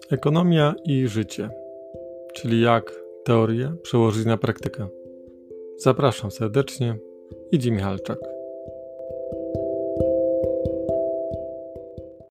Ekonomia i życie, czyli jak teorię przełożyć na praktykę. Zapraszam serdecznie, Idzi Michalczak.